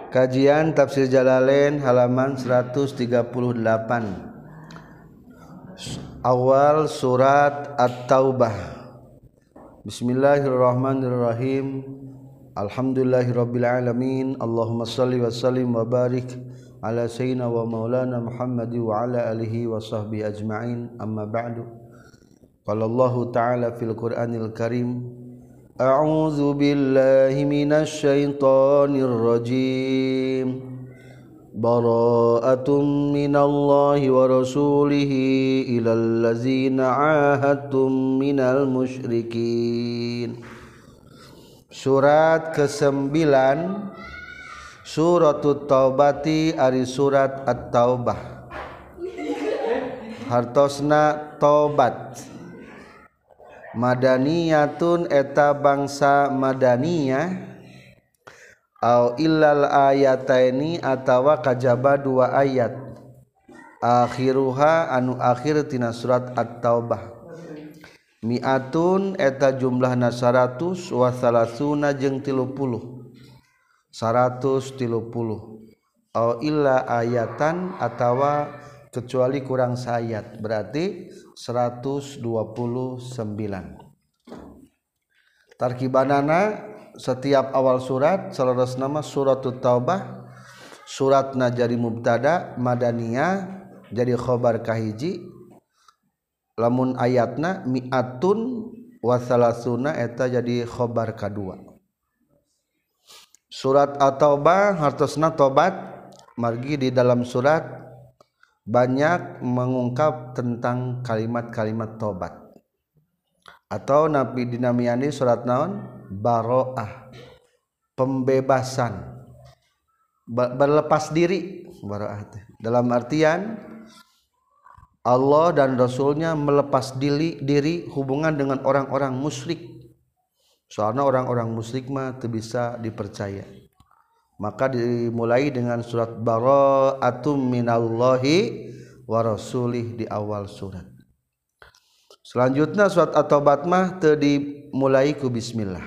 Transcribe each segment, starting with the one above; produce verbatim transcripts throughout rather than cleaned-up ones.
Kajian Tafsir Jalalain halaman seratus tiga puluh delapan. Awal surat At-Taubah. Bismillahirrahmanirrahim. Alhamdulillahirabbil alamin. Allahumma shalli wa sallim wa barik ala sayyidina wa maulana Muhammad wa ala alihi wa sahbihi ajma'in. Amma ba'du. Qala Allah ta'ala fil Qur'anil Karim. A'udzu billahi minasy syaithanir rajim. Bara'atun minallahi wa rasulihi ilal ladzina 'ahadtum minal musyrikin. Surat kesembilan Suratut Taubati ari surat At-Taubah. Hartosna tobat. Madaniyatun eta bangsa madaniyah au illal ayataini atawa kajaba dua ayat akhiruha anu akhir tina surat At-Taubah. Mi'atun eta jumlahna seratus wa salasuna jeung tilu puluh seratus tilu puluh au illa ayatan atawa kecuali kurang sayat berarti seratus dua puluh sembilan. Tarkibanana setiap awal surat salerosna nama Suratut Taubah, suratna jadi mubtada madaniyah jadi khobar kahiji, lamun ayatna mi'atun wa salasuna eta jadi khobar kadua. Surat At-Taubah hartosna tobat, margi di dalam surat banyak mengungkap tentang kalimat-kalimat tobat. Atau Nabi dinamiani surat naon? Baro'ah, pembebasan, berlepas diri. Baro'ah dalam artian Allah dan Rasulnya melepas diri, diri hubungan dengan orang-orang musyrik. Soalnya orang-orang musyrik mah teu bisa dipercaya. Maka dimulai dengan surat Bara'atum minallahi wa rasulih di awal surat. Selanjutnya surat At-Taubah mah teu dimulai ku bismillah.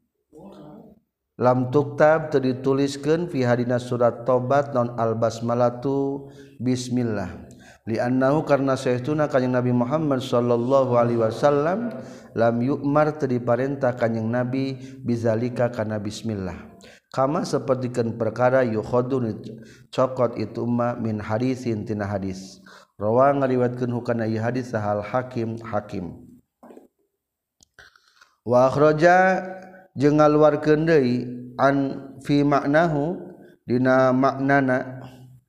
Lam tuktab teu dituliskeun fi hadina surat Taubat non al-basmalatu bismillah. Li'annahu karna saestuna kanjing Nabi Muhammad sallallahu alaihi wasallam lam yu'mar teu diparentah kanjing Nabi bizalika kana bismillah. Kama sapertikeun perkara yukhadun cokot itu ma min hadisin tina hadis. Rawa ngariwayatkeun hukana ieu hadis sahal Hakim Hakim. Wa akhraja jeung ngaluarkeun deui an fi maknahu dina maknana.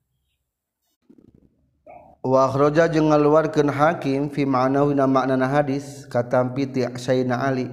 Wa akhraja jeung ngaluarkeun Hakim fi maknahu dina maknana hadis katampi ti Sayyidina Ali.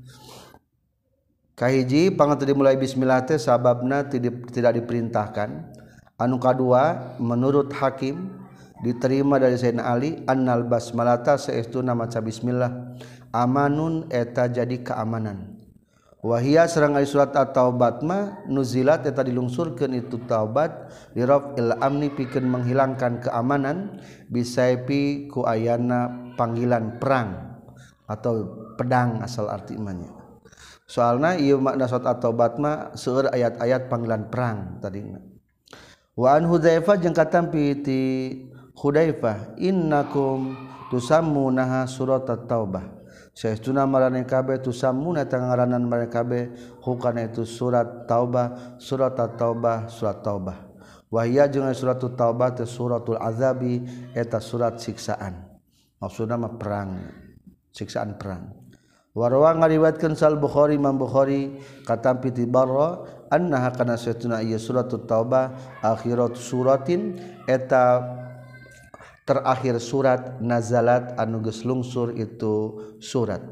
Kahiji pangateu dimulai bismillah teh sababna tidak diperintahkan. Anu kadua menurut Hakim diterima dari Sayyidina Ali annal basmalata saestuna maca bismillah amanun eta jadi keamanan. Wahia sareng ari surat At-Taubah mah nuzilat eta dilungsurkeun itu taubat li raf'il amni pikeun menghilangkan keamanan bisaifi ku ayana panggilan perang atau pedang asal arti imanya. Soalna ieu makna surat At-Taubah mah seueur ayat-ayat panggilan perang tadina. Wa an Hudzaifah jeung katampi ti Hudzaifah innakum tusammunaha surat At-Taubah. Saestuna marane kabeh tusammuna tangaranan marane kabeh hukana itu surat Taubah, surat At-Taubah, surat Taubah. Wa hiya jeung surat At-Taubah teh suratul azabi eta surat siksaan. Maksudna mah perang, siksaan perang. Warwa ngariwayatkeun sal Bukhari Imam Bukhari katampi ti Barra annaha kana satuna ieu suratut Taubah akhirat suratin eta terakhir surat nazalat anu geus lungsur itu surat.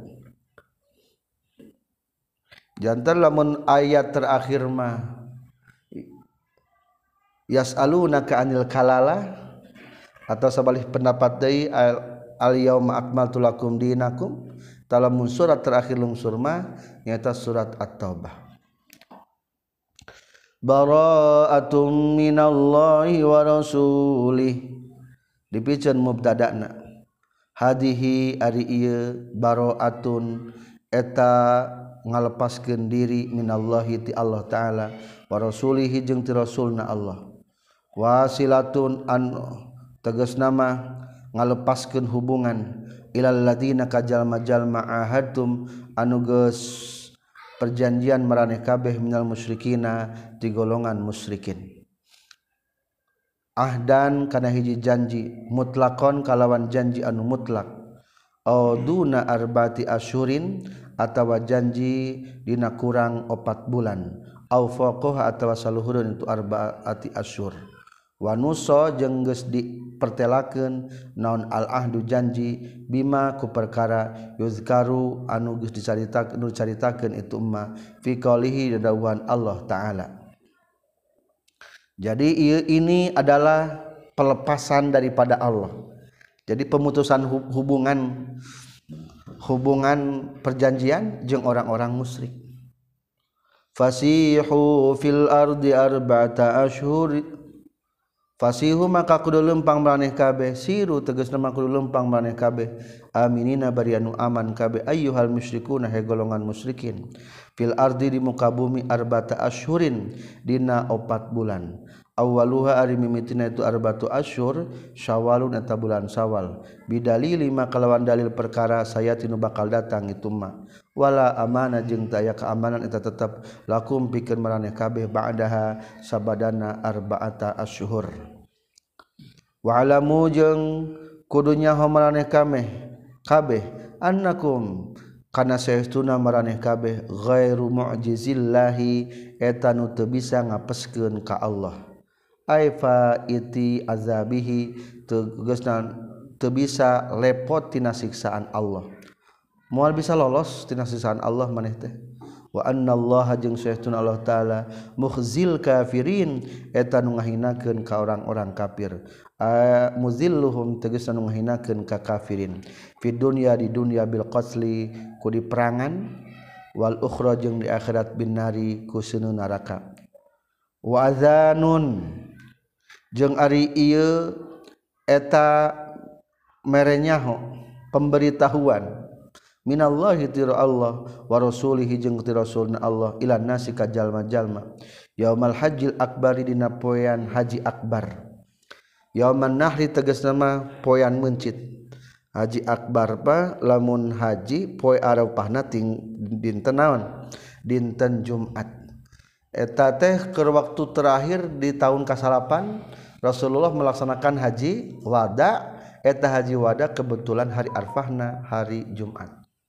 Janten lamun ayat terakhir mah yas'alunaka anil kalala atau sabalih pendapat deui al yauma akmaltu lakum dinakum. Dalam surat terakhir lungsur mah nyata surat At-Taubah. Bara'atum minallahi wa rasulih dipikeun mubtada'na. Hadihi ari ieu bara'atun eta ngalepaskeun diri minallahi ti Allah taala wa rasulihi jeung ti rasulna Allah wasilatun an tegasna mah ngalepaskeun hubungan ilal ladina kajalma-jalma ahadtum anu geus perjanjian maraneh kabeh minal musyrikina ti golongan musyrikin ahdan kana hiji janji mutlakon kalawan janji anu mutlak au duna arbati asyurin atawa janji dina kurang opat bulan au faqah atawa saluhureun itu arbaati asyur wa nusa jeung geus dipertelakeun naon al ahdu janji bima ku perkara yuzkaru anu geus dicaritakeun anu caritakeun itu mah fi qaulihi dawuhan Allah taala. Jadi ini adalah pelepasan daripada Allah. Jadi pemutusan hubungan hubungan perjanjian jeung orang-orang musyrik. Fasihu fil ardi arba'ata asyhur fasihu maka kudu lempang maraneh kabeh siru tegasna maka kudu lempang maraneh kabeh aminina bari anu aman kabeh ayyuhal musyrikuna he golongan musyrikin fil ardi di muka bumi arba'ata asyhurin dina opat bulan awwaluha ari mimitina itu arba'atu asyhur syawalun eta bulan Syawal bidalili maka lawan dalil perkara sayatinu bakal datang itu mah wala amanah jeung taya keamanan eta tetep lakum pikeun maraneh kabeh ba'daha sabadana arba'ata asyhur wa alamu jeung kudunya maraneh kabeh kabeh annakum kana saestuna maraneh kabeh ghairu mu'jizillahi eta nu teu bisa ngapeskeun ka Allah aifa iti azabihi tegasna teu bisa lepot tina siksaan Allah moal bisa lolos tina siksaan Allah maneh teh wa annallaha jeung saestuna Allah taala mukhzil kafirin eta nu ngahinakeun ka orang-orang kafir muzilluhum tegasna nu ngahinakeun ka kafirin fi dunya di dunya bil qatli ku di perangan wal ukhra jeung di akhirat bin nari ku seuneu neraka wa adzanun jeung ari ieu eta merenyaho pemberitahuan minallahi ti Allah wa rasulihi jeung ti rasulna Allah ila nasi ka jalma-jalma yaumal hajjil akbari dina poean haji akbar yauman nahri tegasna mah poean mencit haji akbar pa lamun haji poe arafahna ting dinten naon dinten Jumat eta teh keur waktu terakhir di tahun kasalapan Rasulullah melaksanakan haji wada eta haji wada kebetulan hari arfahna hari Jumat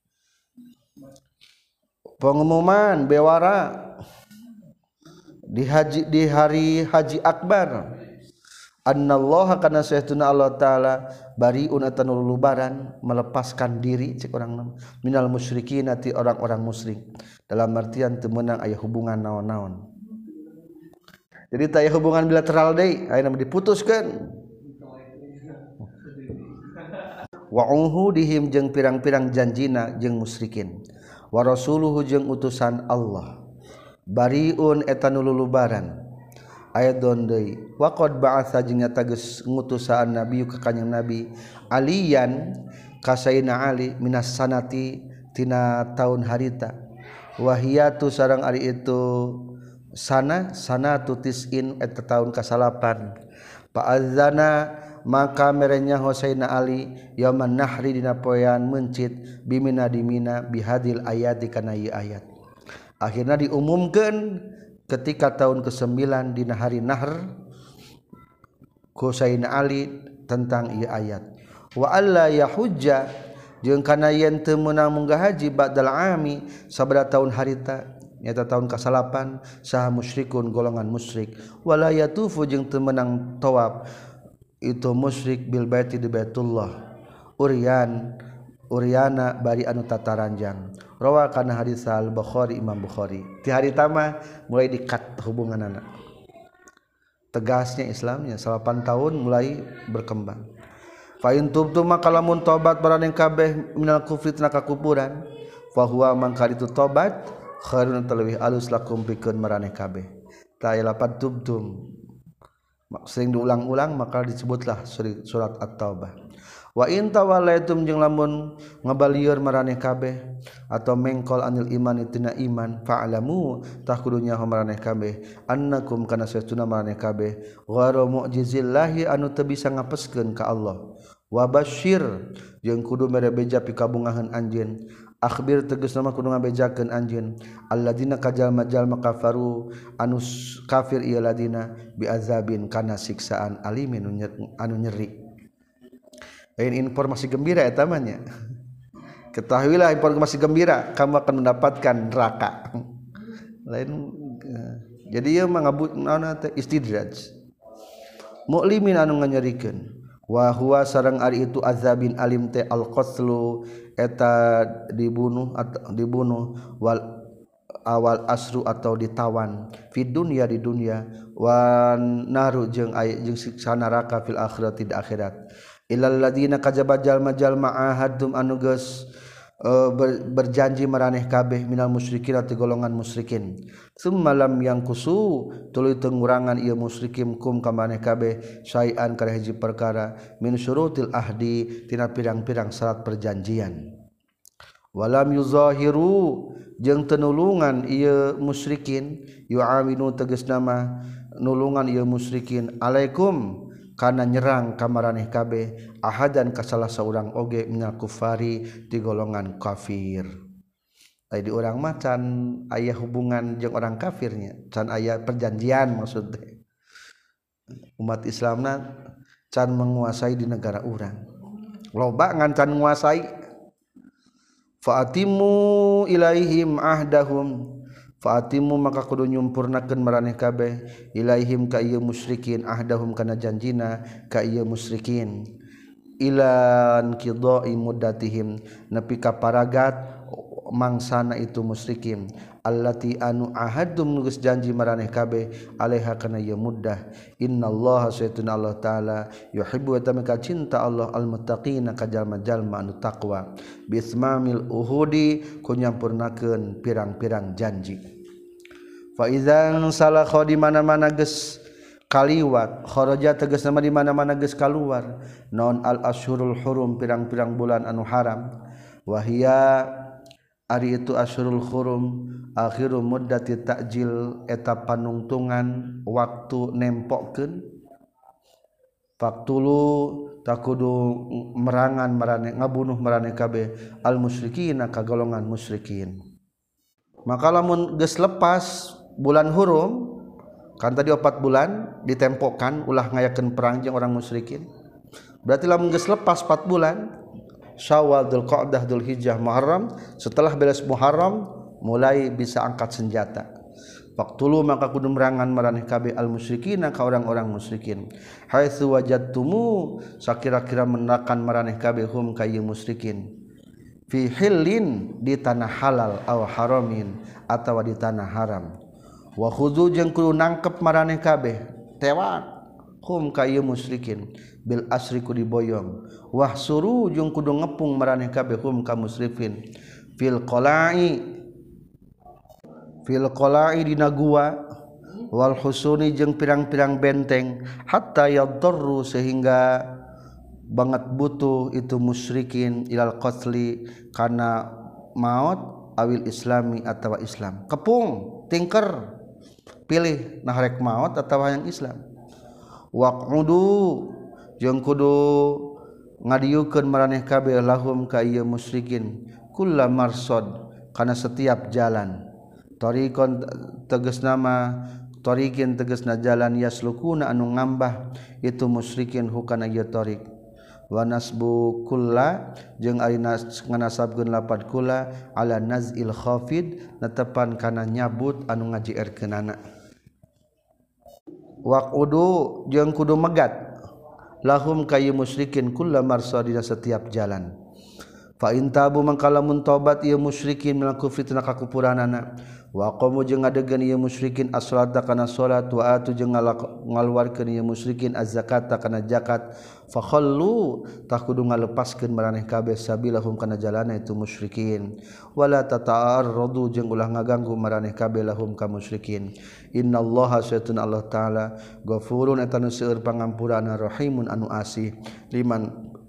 pengumuman bewara di haji di hari haji akbar annallaha kana saestuna Allah taala bariun atanu lulubaran melepaskan diri cek urang minal musyrikin ati orang-orang musyrik dalam artian teu meunang aya hubungan naon-naon jadi teu aya hubungan bilateral deui ayeuna diputuskeun wa uhudihim jeung pirang-pirang janjina jeung musyrikin wa rasuluhu jeung utusan Allah bariun eta nu lulubaran ayat deui wa qad ba'atsa jeung nyata geus ngutusaan nabi ka kanjing nabi aliyan kasaina ali minas sanati tina taun harita wahiyatu sareng ari itu sana sanatu tis'in eta taun kasalapan fa'adzana maka merenya Husaina Ali yauman nahri dina poean mencit bimina dimina bihadil ayat kana ieu ayat akhirna diumumkeun ketika tahun kesembilan dina hari nahr Husaina Ali tentang ieu ayat wa alla yahujja jeung kana yen teu meunang munggah haji ba'dal ami sabada tahun harita nyata tahun kasalapan saha musyrikun golongan musyrik wala yatufu jeung teu meunang tawaf itu musyrik bil baiti di Baitullah urian uriana bari anu tataranjang rawa kana hadis al Bukhari Imam Bukhari ti hari tama mulai dikat hubunganana tegasnya Islamnya salapan tahun mulai berkembang fa in tubtum maka lamun tobat baraneng kabeh minal kufri tina kakupuran fa huwa mangka ditu tobat khairun talawih alus lakum pikeun maraneh kabeh ta aya lapan tubtum sering diulang-ulang maka disebutlah surat At-Taubah wa in tawallaitum jeung lamun ngabalieur maraneh kabeh atau mengkol anil iman tina iman fa'lamu tah kudunya maraneh kabeh annakum kana satuna maraneh kabeh ghairu mu'jizillahi anu teu bisa ngapeskeun ka Allah wa basyir jeung kudu mere beja pikabungahan anjeun akhbir tegasna mah kudu ngabejakeun anjeun alladzina kajalma-jalma kafaru anu kafir ieu ladina bi azabin kana siksaan alimin anu nyeri. Lain informasi gembira eta mah nya. Ketahuilah informasi gembira kamu akan mendapatkan neraka. Lain jadi ieu mah ngabut naonna teh istidraj. Mu'limin anu nganyerikeun wa huwa sareng ari itu azabin alim teh al-qatlu eta dibunuh atau dibunuh wal awal asru atau ditawan fi dunya di dunia wan naru jeung aya jeung siksa neraka fil akhirat di akhirat illal ladina kajaba jalma-jalma ahadum anu geus uh, ber, berjanji maraneh kabeh minal musyrikin ati golongan musyrikin summa lam yangkusu tuluy teu ngurangan ieu musyrikin kum ka maneh kabeh syai'an kana hiji perkara min syurutil ahdi tina pirang-pirang syarat perjanjian walam yuzahiru jeung teu nulungan ieu musyrikin yu'awinu tegasna mah nulungan ieu musyrikin alaikum kana nyerang ka maraneh kabeh ahadan ka salah saurang oge minal kufari di golongan kafir. Ai di urang mah can aya hubungan jeung orang kafirnya, can aya perjanjian maksudna. Umat Islamna can menguasai di negara urang. Loba ngan can nguasai. Fa'atimu ilaihim ahdahum Fa'atimu maka kudu nyumpurnakeun maraneh kabeh ilaihim ka ieu musyrikin ahdahum kana janjina ka ieu musyrikin ilan qidai muddatihim nepi ka paragat mangsana itu musyrikin allati anu ahadum geus janji maraneh kabeh alaiha kana ieu muddah innallaha saytuna Allah taala yuhibbu wa tamaka cinta Allah almuttaqina ka jalma-jalma anu taqwa bismamil uhudi ku nyampurnakeun pirang-pirang janji fa idzan salakha di mana-mana geus kaliwat kharaja tegasna di mana-mana geus kaluar naon al asyhurul hurum pirang-pirang bulan anu haram wahia ari itu asyhurul hurum akhiru muddati ta'jil eta panungtungan waktu nempokkeun faktulu takudu merangan maraneh ngabunuh maraneh kabeh al musyrikin ka golongan musyrikin maka lamun geus lepas bulan hurum kan tadi opat bulan ditempokkan ulah ngayakeun perang jeung orang musyrikin berarti lamun geus lepas empat bulan Syawal, Dzulqa'dah, Dzulhijjah, Muharram setelah beres Muharram mulai bisa angkat senjata. Faqtulu maka kudu merangan maraneh kabeh al musyrikin ka orang-orang musyrikin. Haitsu wajadtumu sakira-kira menakan maraneh kabeh hum ka ieu musyrikin. Fi hillin di tanah halal aw haramin atawa di tanah haram. Wa khudzu jeung kudu nangkep maraneh kabeh tewak hum ka ieu musyrikin bil asri ku diboyong wah suru jeung kudu ngepung maraneh kabeh hum ka musrifin fil qala'i fil qala'i dina gua wal husuni jeung pirang-pirang benteng hatta yadarru sehingga banget butuh itu musyrikin ilal qatli kana maut awil islami atawa Islam kepung tingker pilih nah rek maut atawa yang Islam waqudu jeung kudu ngadieukeun maraneh kabeh lahum ka ieu musyrikin kullu marsad kana setiap jalan tariqon tegasna mah tariqin tegasna jalan yaslukuna anu ngambah itu musyrikin hukana ieu tariq wa nasbu kulla jeung ari nganasabkeun lapad kulla ala nazil khafid netepan kana nyabut anu ngajierkeunana waqudu jeung kudu megat lahum kayu musyrikin kullu marsadina setiap jalan fa in tabu mangkalamun tobat ieu musyrikin minal kufri tina kakupuranana wa qamu jeung ngadegeun ieu musyrikin as-salata kana salat wa atu jeung ngaluarkeun ieu musyrikin az-zakata kana zakat fa khallu tah kudu ngalepaskeun maraneh kabeh sabilahum kana jalana itu musyrikin wala tata'arradu jeung ulah ngaganggu maraneh kabeh lahum ka musyrikin innallaha saytun Allah taala ghafurun eta nu seueur pangampurana rahimun anu asih liman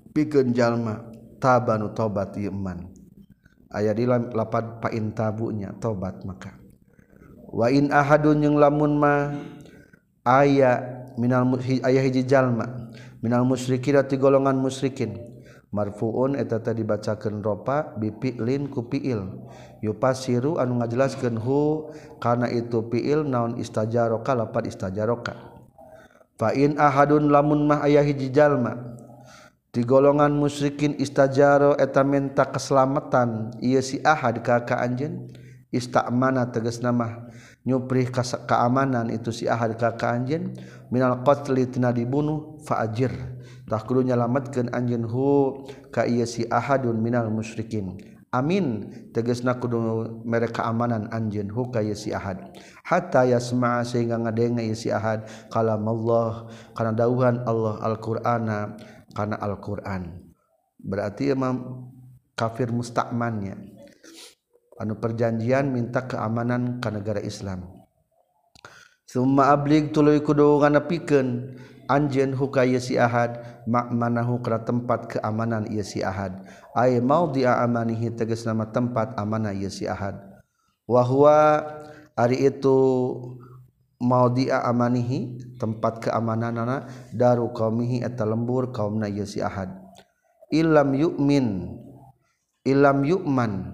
pikeun jalma tabanu tobat ieu man aya di lapad pain tabunya tobat maka wa in ahadun jeung lamun mah aya minal aya hiji jalma minal musyrikin ti golongan musyrikin marfuun eta tadi dibacakeun ropa bi fi'lin ku fi'il yupasiru anu ngajelaskeun hu kana itu fi'il naon istajaroka lapad istajaroka fa in ahadun lamun mah aya hiji jalma ti golongan musyrikin istajaro eta minta keselamatan ieu si ahad ka ka anjeun istamana tegasna mah nyuprih keamanan itu si ahad ka ka anjeun minal qatli tina dibunuh fa ajir tah kudu nyalametkeun anjeun hu ka ieu si ahadun minal musyrikin amin tegasna kudu mere keamanan anjeun hu ka ieu si ahad hatta yasma'a sehingga ngadenge ieu si ahad kalam Allah kana dawuhan Allah Al-Qur'ana kana Al-Qur'an berarti emang kafir musta'mannya anu perjanjian minta keamanan ka negara Islam summa ablig tuluy kudu nganepikeun anjeun huka ieu si ahad ma'manahu kana tempat keamanan ieu si ahad ay maudhi'a amanihi tegas nama tempat amanah ieu si ahad wa huwa ari itu maudhi'a amanihi tempat keamananana daru qaumihi eta lembur kaumna ieu si ahad illam yu'min illam yu'man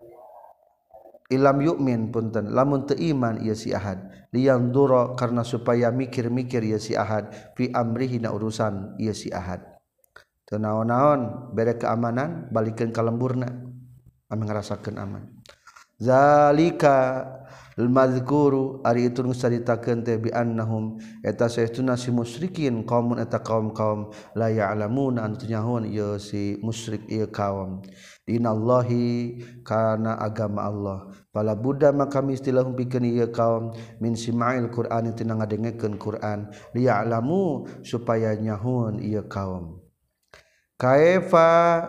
illam yu'min punten lamun teu iman ieu si ahad liang duro karena supaya mikir-mikir ieu si ahad fi amrihi na urusan ieu si ahad teu naon-naon bere keamanan balikeun ka lemburna ame ngarasakeun aman zalika al-madzkuru ari itu nu caritakeun teh bi annahum eta saestuna si musyrikin qaumun eta kaum-kaum la ya'lamuna anu nyahoan ieu si musyrik ieu kaum dinallahi kana agama Allah fala budda maka mistilahum pikeun ieu kaum min sima'il qur'an tina ngadengekeun Qur'an liya'lamu supaya nyahoan ieu kaum kaifa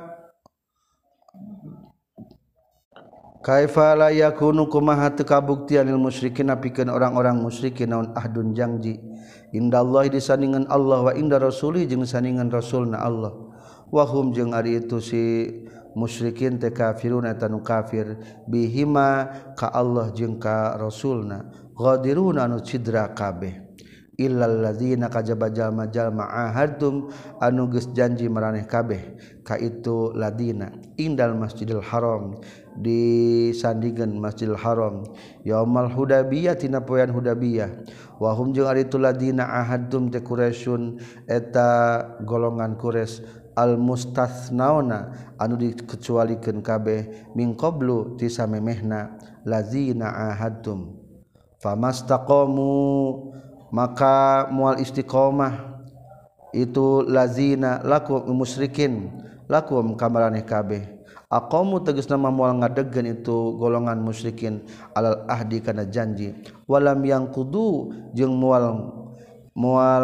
kaifa la yakunu kumaha teu kabuktian lil musyrikin pikeun orang-orang musyrikin naon ahdun janji indallahi disandingan Allah wa inda rasulih jeung sandingan rasulna Allah wa hum jeung ari itu si musyrikin teh kafirun eta nu kafir bihima ka Allah jeung ka rasulna ghadiruna anu cidra kabeh illal ladzina kajaba jalma-jalma ahadtum anu geus janji maraneh kabeh ka itu ladina indal masjidil haram disandingan masjidil haram yaumal hudabiyah tina poean hudabiyah wa hum jeung ari itu ladina ahadtum te quraisyun eta golongan quraisy al mustathnauna anu dikecualikeun kabeh min qablu ti samemehna ladzina ahadtum famastaqamu maka mual istiqomah itu lazina lakum musyrikin lakum kamaraneh kabeh aqamu tegasna moal ngadegkeun itu golongan musyrikin alal ahdi kana janji walam yang kudu jeung moal moal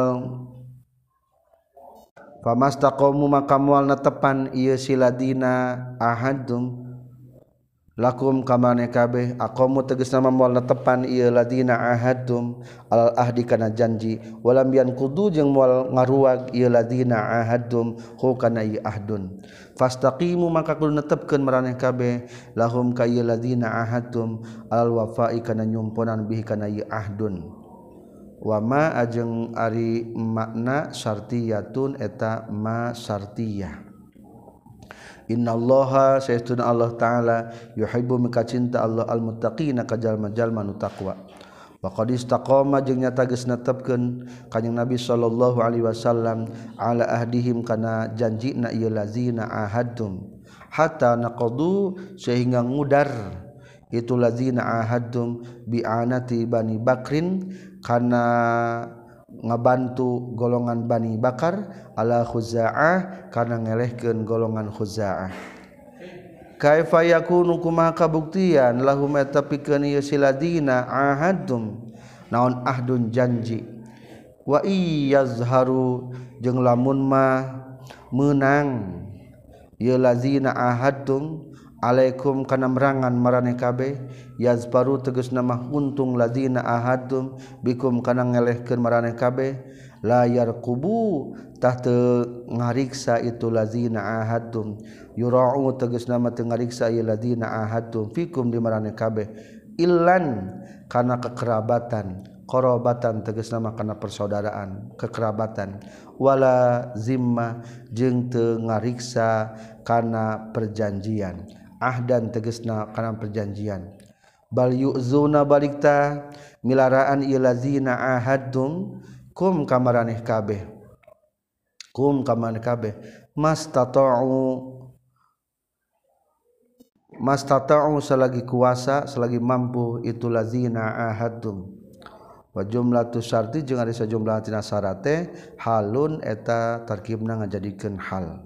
famastaqamu maka moal netepan ieu si ladina ahadum lakum kamane kabeh aqamu tegasna moal netepan ieu ladina ahadum alal ahdi kana janji walam yan kudu jeung moal ngaruag ieu ladina ahadum hu kana ieu ahdun fastaqimu maka kudu netepkeun maraneh kabeh lahum ka ieu ladina ahadum alal wafa'i kana nyumponan bihi kana ieu ahdun wa ma ajeng ari makna syartiyatun eta ma syartiyah innallaha sayyiduna Allah taala yuhibbu maka cinta Allah almuttaqina ka jalma-jalma nu taqwa wa qad istaqama jeung nyata geus netepkeun kanjing Nabi sallallahu alaihi wasallam ala ahdihim kana janjina ieu lazina ahadtum hatta naqadu sehingga ngudar itu lazina ahadtum bi'anati bani bakrin kana ngabantu golongan Bani Bakar ala Khuza'ah kana ngelehkeun golongan Khuza'ah kaifa yakunu kumaha kabuktian lahum eta pikeun ieu siladina ahadum naon ahdun janji wa iyazharu jeung lamun mah meunang ieu lazina ahadum alaikum kana merangan maraneh kabeh yazbaru tegasna mah untung ladina ahadum bikum kana ngelehkeun maraneh kabeh layar kubu tah teu ngariksa itu lazina ahadtum yura'u tegasna mah teu ngariksa ieu lazina ahadtum fikum di maraneh kabeh illan kana kekerabatan qarabatan tegasna mah kana persaudaraan kekerabatan wala zimma jeung teu ngariksa kana perjanjian ahdan tegasna kana perjanjian bal yu'zuna balikta milaraan ieu lazina ahadtum kum kamaraneh kabeh kum kamaraneh kabeh mastata'u mastata'u selagi kuasa selagi mampu itu lazina ahadtum wa jumlatu syarti jeung ari sajumlah tina syarat teh halun eta tarkibna ngajadikeun hal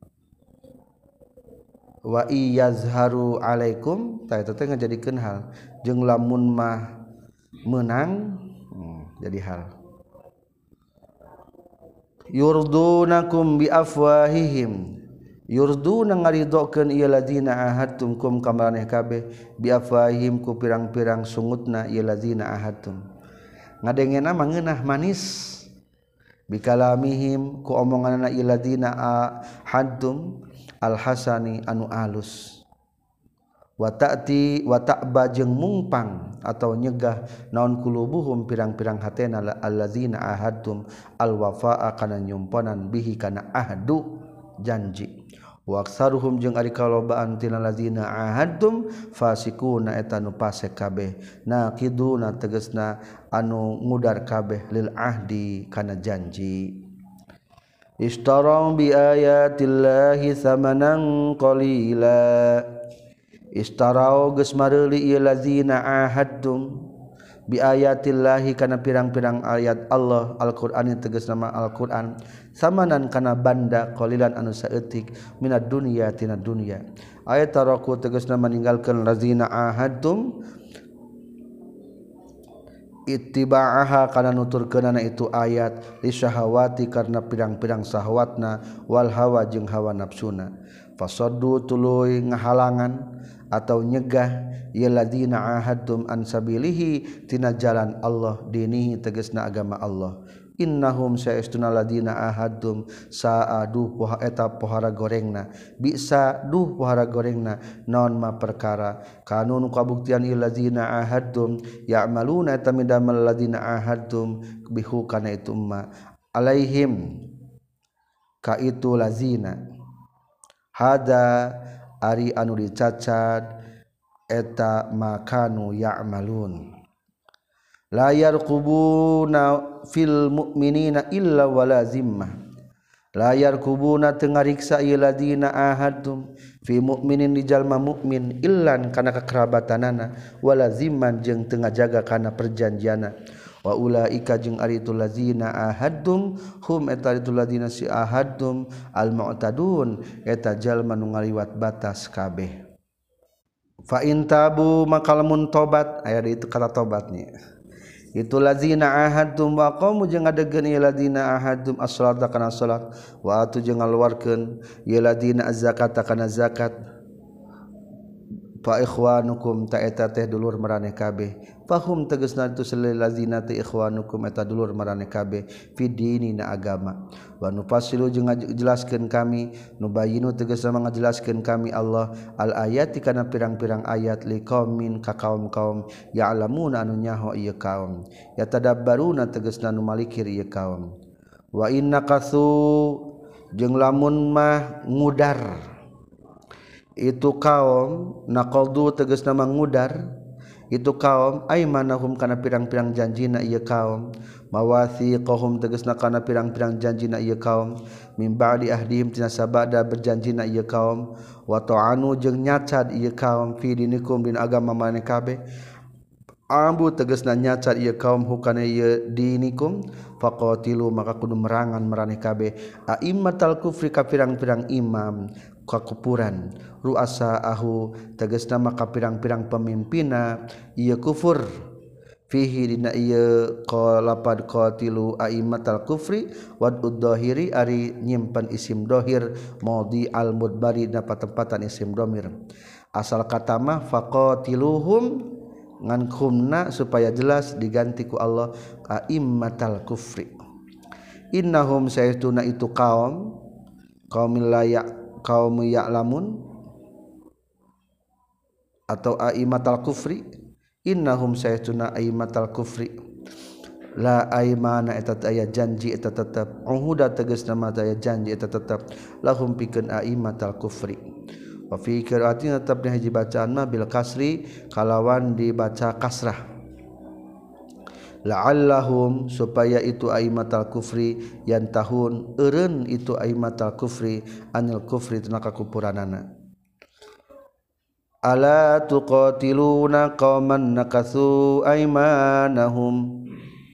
wa iyazharu alaikum ta eta teh ngajadikeun hal jeung lamun mah menang hmm, jadi hal yurdunakum bi afwahihim yurduna ngaridokeun ieu ladina ahadtum kum kamaraneh kabeh bi afwahihim ku pirang-pirang sungutna ieu ladina ahadtum ngadengena mah ngeunah manis bi kalamihim ku omonganna ieu ladina ahadtum alhasani anu alus wa ta'ti wa ta'ba jeung mungpang atau nyegah naon kulubuhum pirang-pirang hatena allazina ahadtum alwafaa kana nyumponan bihi kana ahdu janji wa aksaruhum jeung ari kalobaan tina lazina ahadtum fasikuna eta nu pasek kabeh naqiduna tegasna anu ngudar kabeh lil ahdi kana janji istarau bi ayatillahi samanan qalila istarau geus mareuli ieu lazina ahadtum bi ayatillahi kana pirang-pirang ayat Allah Al-Qur'an tegas nama Al-Qur'an samanan kana banda qalilan anu saeutik minad dunya tina dunya ayat taraku tegas nama ninggalkeun lazina ahadtum ittiba'aha kana nuturkeunana itu ayat li syahawati karena pirang-pirang syahwatna wal hawa jeung hawa nafsuna fasaddu tuluy ngahalangan atau nyegah ya ladina ahadtum an sabilihi tina jalan Allah dinihi tegasna agama Allah innahum saestuna ladina ahadtum saadu poha eta pohara gorengna bisa duh pohara gorengna naon ma perkara kanu nu kabuktian ieu ladina ahadtum ya'maluna eta midamel ladina ahadtum bihu kana itu ma alaihim ka itu lazina hada ari anu dicacad eta makanu ya'malun la yarqubuna fil mu'minina illa wala zimmah la yarqubuna tengariksa ieu ladina ahadtum fi mu'minin di jalma mukmin illan kana kakerabatanana wala zimman jeung teu ngajaga kana perjanjianna wa ulaika jeung ari itu lazina ahadtum hum eta itu ladina si ahadtum al mu'tadun eta jalma nu ngaliwat batas kabeh fa in tabu maka lamun tobat aya itu kata tobatnya itu lazina ahadtum wa qamu jeung ngadegeun ieu ladina ahadtum as-salata kana salat wa atu jeung ngaluarkeun ieu ladina az-zakata kana zakat fa ikhwanukum ta eta teh dulur maraneh kabeh fahum tegasna itu salil lazina ta ikhwanukum eta dulur maraneh kabeh fi dinina agama wa nufassilu jeung ngajelaskeun kami nubayinu tegasna ngajelaskeun kami Allah al ayati kana pirang-pirang ayat liqaumin ka kaum-kaum ya'lamuna anu nyaho ieu kaum yatadabbaruna tegasna nu malikir ieu kaum wa innakasu jeung lamun mah ngudar itu kaum naqaldu tegasna mangudar itu kaum aymanahum kana pirang-pirang janjina ieu kaum mawathiqahum tegasna kana pirang-pirang janjina ieu kaum min ba'di ahdihim tina sabada berjanjina ieu kaum wa ta'anu jeung nyacad ieu kaum fi dinikum din agama maneh kabeh ambu tegasna nyacad ieu kaum hukana ieu dinikum faqatilu maka kudu merangan maraneh kabeh aimmatal kufri ka pirang-pirang imam kakupuran ruasa ahu tegasna maka pirang-pirang pemimpina ieu kufur fihi dina ieu qalapad qatilu aimmatal kufri wadud dhahiri ari nyimpen isim dhahir maudi al mudbari dapat tempatan isim dhamir asal kata mah faqatiluhum ngan khumna supaya jelas diganti ku Allah aimmatal kufri innahum saytuna itu kaum kaum layak kaum ya'lamun atau aimatal kufri innahum saytuna aimatal kufri la aimana eta aya janji eta tetep uhuda tegasna mah aya janji eta tetep lahum pikeun aimatal kufri wa fi qiraatin tetep di hiji bacaan mah bil kasri kalawan dibaca kasrah la'allahum supaya itu aimatal kufri yantahun eureun itu aimatal kufri anil kufri tina kakupuranana ala tuqatiluna qauman nakatsu aimanahum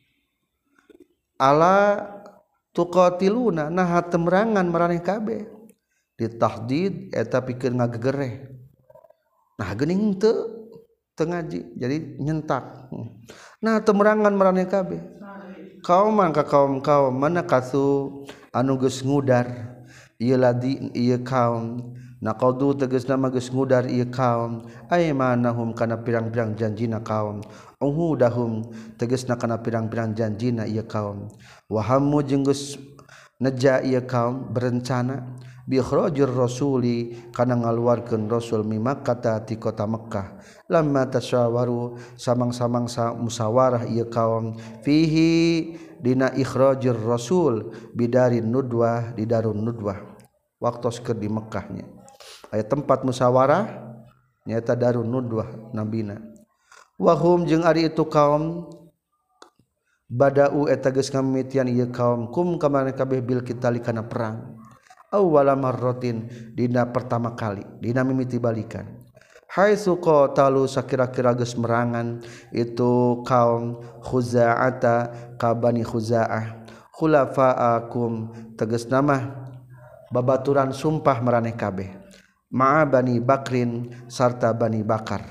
ala tuqatiluna nah temerangan maraneh kabeh ditahdid eta pikeun ngagegereh nah geuning teu teu ngaji jadi nyentak nah temerangan maraneh kabeh kaum ka kaum kaum mana kasu anu geus ngudar ieu ladi ieu kaum naqadu tegasna mah geus ngudar ieu kaum aymanahum kana pirang-pirang janjina kaum uhudahum tegasna kana pirang-pirang janjina ieu kaum wa hammu jeung geus neja ieu kaum berencana bi ikhrajir rasuli kana ngaluarkeun rasul mi Makkah ti kota Mekkah lamma tasyawaru samang-samang musawarah ieu kaum fihi dina ikhrajir rasul bidarin nudwah di darun nudwah waktos keur di Mekkahnya aya tempat musawarah nyaeta darun nudwah nabina wahum jeung ari itu kaum badau eta geus ngamimitian ieu kaum kum kamana kabeh bil kitali kana perang awwala marratin dina pertama kali dina mimiti balikan haitsu qatalu sakira-kira geus merangan itu kaum Khuza'ata ka Bani Khuza'ah khulafa'akum tegasna mah babaturan sumpah maraneh kabeh ma'a Bani Bakrin sarta Bani Bakar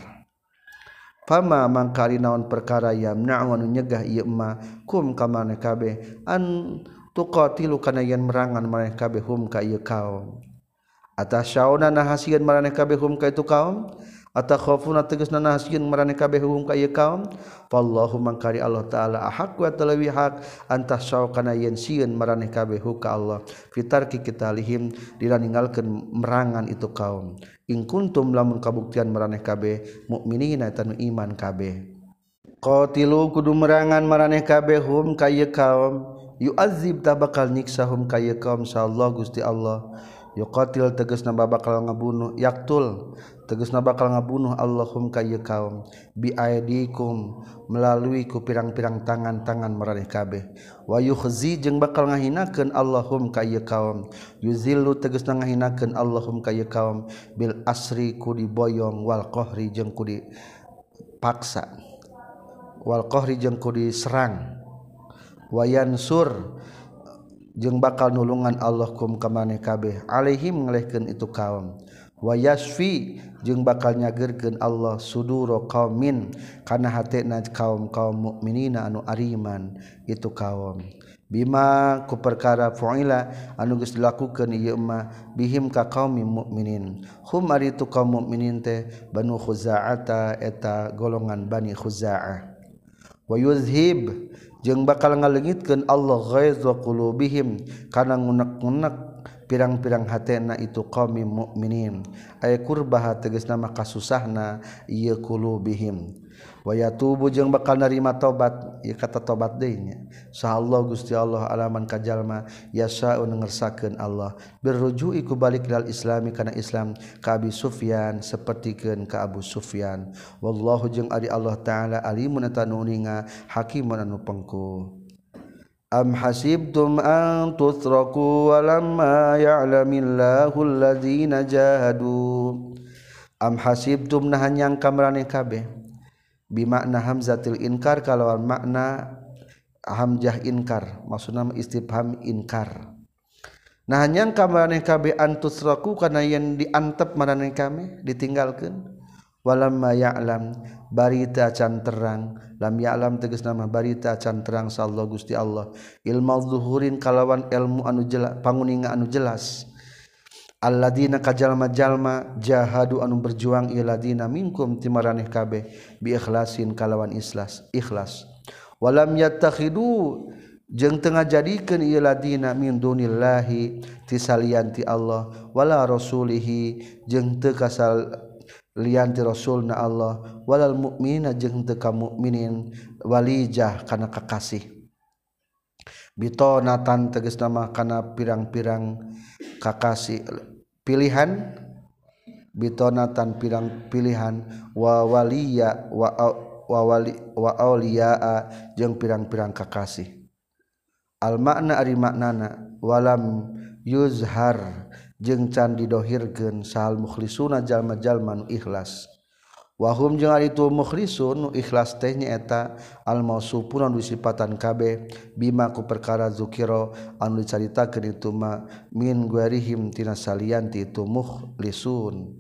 fama mangkari naon perkara yamna'u anu nyegah ieu ma kum ka maneh kabeh an tuqatilu kana yen merangan maraneh kabeh hum ka ieu kaum atasyauna nahasieun maraneh kabeh hum ka itu kaum atakhafuna tegasna nahasieun maraneh kabeh hum ka ieu kaum wallahu mangkari Allah taala ahaq wa talawi haq antasyaw kana yen sieun maraneh kabeh hu ka Allah fitarki kitalihim dina ninggalkeun merangan itu kaum in kuntum lamun kabuktian maraneh kabeh mukminina tanu iman kabeh qatilu kudu merangan maraneh kabeh hum ka ieu kaum yu'adzib ta bakal niksahum kaya kaum insyaallah Gusti Allah yuqatil tegasna bakal ngabunuh yaktul tegasna bakal ngabunuh Allahum kaya kaum bi aidikum melalui ku pirang-pirang tangan-tangan maraneh kabeh wa yukhzi jeung bakal ngahinakeun Allahum kaya kaum yuzillu tegasna ngahinakeun Allahum kaya kaum bil asri ku diboyong wal qahri jeung ku dipaksa wal qahri jeung ku diserang wayan sur jeung bakal nulungan Allah kum ka maneh kabeh alaihim ngelehkeun itu kaum wayasfi jeung bakal nyageurkeun Allah suduro qaumin kana hatena kaum-kaum mukminina anu ariman itu kaum bima ku perkara fuila anu geus dilakukeun ieu mah bihim ka qaumim mukminin hum ari itu kaum mukminin teh Banu Khuza'ata eta golongan Bani Khuza'ah wa yuzhib jeung bakal ngaleungitkeun Allah ghaiza qulubihim kana ngunek-ngunek pirang-pirang hatena itu qaum mukminin ay kurbah tegasna mah kasusahna ieu qulubihim wa yatubu jeung bakal narima tobat ieu kata tobat deui nya sahallahu Gusti Allah alaman kajalma yasa'un ngersakeun Allah birruju'i ku balik ilal islami kana Islam ka Abi Sufyan sapertikeun ka Abu Sufyan wallahu jeung ari Allah taala alimun eta nu ninga hakimun anu pengku am hasibtum an tutraku walamma ya'lamillahu alladzina jahadu am hasibtum nah nyangka maraneh kabeh bimakna hamzatil inkar kalawan makna hamzah inkar maksudna istifham inkar nah nyangka maraneh kabeh antusraku kana yen diantep maraneh kami ditinggalkeun walamma ya'lam barita can terang lam ya'lam tegasna mah barita can terang sallallahu Gusti Allah ilmu zuhurin kalawan ilmu anu jelas panguninga anu jelas alladzina kajalma-jalma jahadu anu berjuang iladina minkum timaraneh kabeh bi ikhlasin kalawan ikhlas ikhlas walam yattakhidu jeung tengah jadikeun ieu ladina min dunillahi ti salian ti Allah wala rasulihi jeung teu kasal lian ti rasulna Allah walal mukminina jeung teu ka mukminin walijah kana kakasih bitonatan tegasna mah kana pirang-pirang kakasih pilihan bitonatan pirang pilihan wa waliya wa wa wali wa auliya jeung pirang-pirang kakasih al makna ari maknana walam yuzhar jeung can didohirkeun sahal mukhlisuna jalma-jalma nu ikhlas wahum jeung ari tu mukhlisun nu ikhlas teh nyaeta al mausufuna nu disipatan kabeh bima ku perkara zukira anu dicaritakeun itu ma min guarihim tina salian ti itu mukhlisun.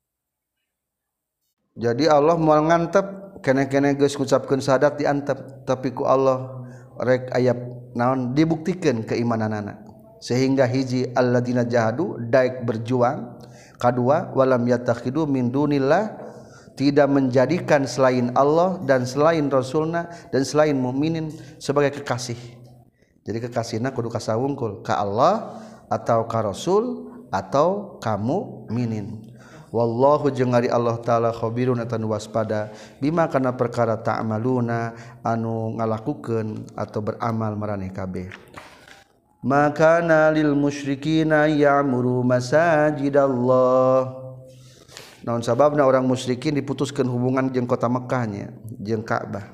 Jadi Allah moal ngantep kene-kene geus ngucapkeun syahadat diantep tapi ku Allah rek aya naon dibuktikan keimananana sehingga hiji alladzina jahadu daek berjuang kedua walam yatakhidu min dunillah tidak menjadikan selain Allah dan selain Rasulna dan selain mukminin sebagai kekasih jadi kekasihna kudu kasawungkul ka Allah atau ka Rasul atau kamu mukminin wallahu jeung ari Allah taala khabirun eta nu waspada bima kana perkara ta'maluna anu ngalakukeun atau beramal maraneh kabeh maka lil musyrikina ya'muru masajidallah naon sababna orang musyrikin diputuskeun hubungan jeung kota Mekkahnya jeung Ka'bah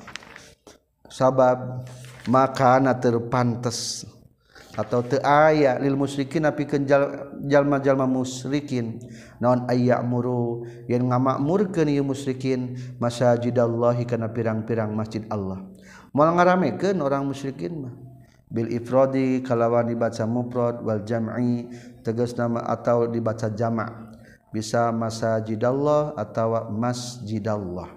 sabab makana teu pantes atau teu aya lil musyrikin apikeun jalma-jalma musyrikin naon ayyamuru yen ngamakmurkeun ieu musyrikin masajidallahi kana pirang-pirang masjid Allah moal ngaramekeun orang musyrikin mah bil ifradi kalawan dibaca mufrad wal jam'i tegasna atau dibaca jama' bisa masajidallah atawa masjidallah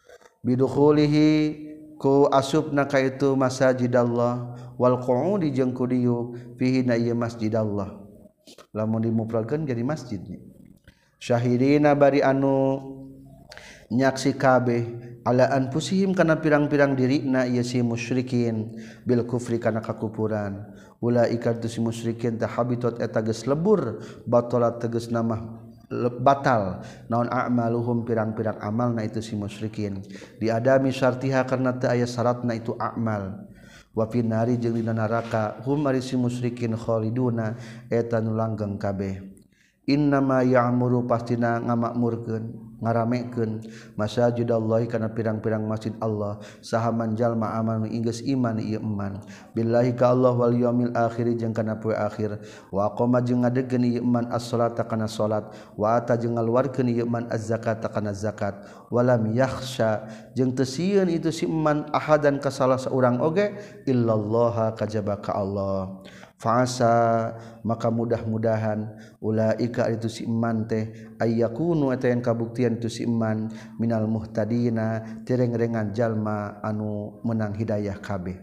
bidukhulihi ku asubna ka itu masajidallah wal qu'udi jeung ku dieu fihi na ieu masjidallah lamun dimufradkeun jadi masjidnya syahidina bari anu nyaksi kabeh ala anfusihim kana pirang-pirang dirina ieu si musyrikin bil kufri kana kakupuran ulaika tu si musyrikin tah habitat eta geus lebur batalat tegasna mah batal naon a'maluhum pirang-pirang amalna itu si musyrikin di adami syartiha karena teu aya syaratna itu amal wa finari jeung dina neraka hum ari si musyrikin khaliduna eta nu langgeng kabeh innama ya'muru pastina ngamakmurkeun ngaramekeun masajidallahi kana pirang-pirang masjid Allah sahaman jalma amal inggeus iman ieu iman billahi ka Allah wal yaumil akhir jeung kana poe akhir wa qoma jeung ngadegeun ieu iman as-salata kana salat wa ata jeung ngaluarkeun ieu iman az-zakata kana zakat walam yakhsha jeung teu sieun itu si iman ahadan ka salah saurang oge illallah kajaba ka Allah fa'asa maka mudah-mudahan ulaika itu si iman teh ayyakunu eta yang kabuktian itu si iman minal muhtadina tereng-rengan jalma anu menang hidayah kabeh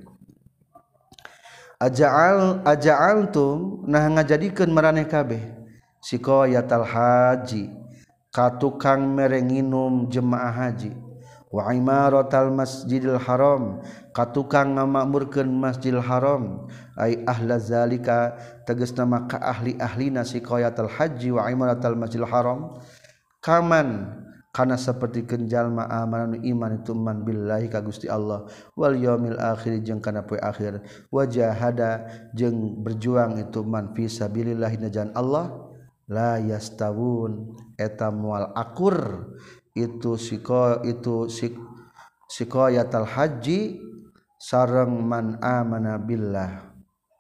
aja'al aja'altum nah ngajadikeun maraneh kabeh siqayatal haji ka tukang merenginum jemaah haji wa imaratal masjidil haram katukang ngamakmurkeun masjidil haram ai ahla zalika tegasna maka ahli-ahlina siqayatul haji wa imaratal masjidil haram kaman kana sapertikeun jalma amananu iman itu man billahi ka Gusti Allah wal yaumil akhir jeung kana poe akhir wajahada jeung berjuang itu man fi sabilillah najan Allah la yastawun eta moal akur itu siko itu sik siqayatul haji sareng man amana billah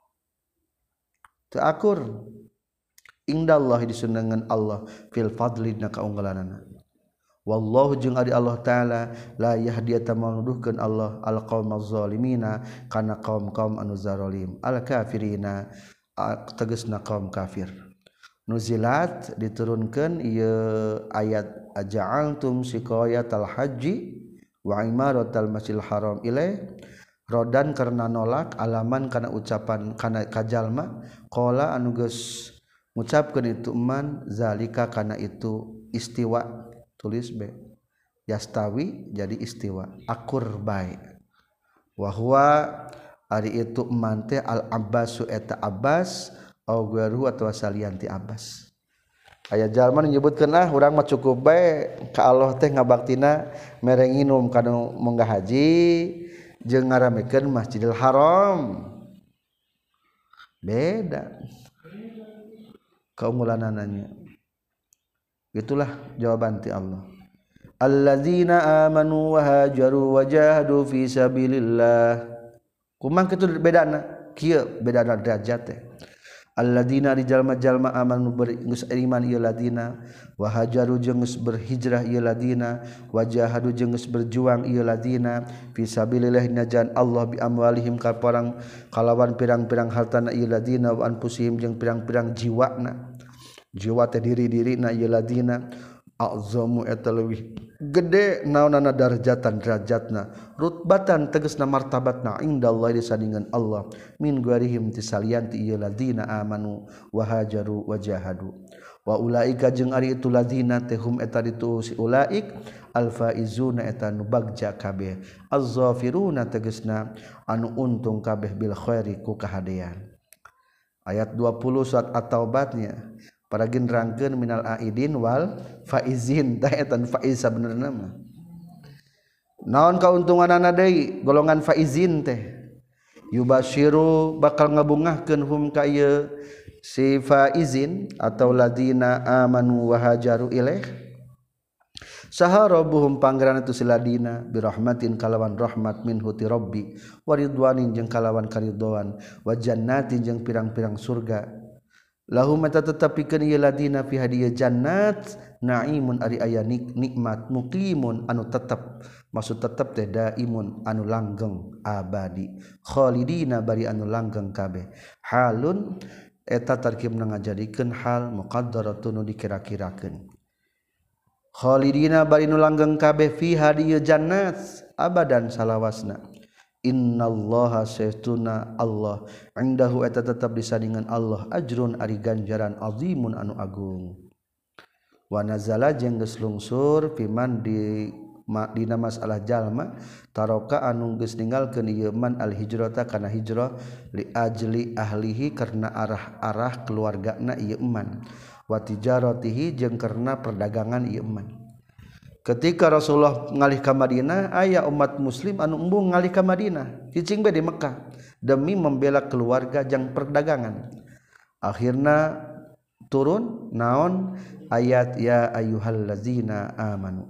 teu akur indallah disundangan Allah fil fadli na kaunggalanana wallahu jeung ari Allah taala la yahdi ta manuduhkeun Allah al qaumaz zalimina kana kaum-kaum anu zalim al kafirina tegasna kaum kafir nuzilat diturunkeun ieu ayat aja'altum siqayatal haji wa imaratal masjidil haram ilai rodan karena nolak alaman kana ucapan kana kajalma qala anu geus ngucapkeun itu man zalika kana itu istiwa tulis be yastawi jadi istiwa akur bae wa huwa ari itu eman teh al abbasu eta abbas au gharu atawa salian ti abbas. Aya jalma nyebutkeun ah urang mah cukup bae ka Allah teh ngabaktina mere nginum kanu munggah haji jeung ngaramekeun Masjidil Haram. Beda kaumulanananya. Itulah jawaban ti Allah. Alladzina amanu wa hajaru wa jahadu fi sabilillah. Kumaha kitu bedana? Kieu bedana derajat teh. Alladzina di jalma-jalma amanu geus iman ieu ladina wa hajaru jeung geus berhijrah ieu ladina wa jahadu jeung geus berjuang ieu ladina fi sabilillah najan Allah bi amwalihim ka parang kalawan pirang-pirang hartana ieu ladina wa anfusihim jeung pirang-pirang jiwana. Jiwa teh diri-dirina ieu ladina a'zamu eta leuwih gede naonana darajatan derajatna rutbatan tegasna martabatna indallahi disandingan Allah min gharihim tisalian ti ieu ladina amanu wa hajaru wa jahadu wa ulaika jeung ari itu ladina teh hum eta ditu si ulaik alfaizuna eta nu bagja kabeh az-zafiruna tegasna anu untung kabeh bil khairi ku kahadean. Ayat dua puluh surat at-taubatnya paragin rangkeun minal aidin wal faizin tah eta faiz sabenerna mah naon kauntunganana deui golongan faizin teh yubasyiru bakal ngabungahkeun hum ka ieu si faizin atau ladina amanu wa hajaru ilaih saha rabbuhum pangeran itu siladina birahmatin kalawan rahmat minhu ti rabbi waridwanin jeung kalawan karidhoan wa jannatin jeung pirang-pirang surga lahum mata tetapikeun ieu ladina fi hadiya jannat naimun ari aya nikmat muqimun anu tetep maksud tetep teh daimun anu langgeng abadi khalidina bari anu langgeng kabeh halun eta tarkibna ngajadikeun hal muqaddaratun dikira-kirakeun khalidina bari anu langgeng kabeh fi hadiya jannat abadan salawasna. Innallaha saestuna Allah indahu eta tetap disandingan Allah ajrun ari ganjaran azimun anu agung. Wa nazala jeung geus lungsur piman di dina masalah jalma taroka anu geus ninggalkeun ieu man al hijrata kana hijrah li ajli ahlihi karena arah-arah keluargana ieu man wa tijaratihi jeung karena perdagangan ieu man. Ketika Rasulullah ngalih ka Madinah aya umat muslim anu embung ngalih ka Madinah cicing bae di Mekah demi membela keluarga jeung perdagangan. Akhirna turun naon ayat ya ayyuhallazina amanu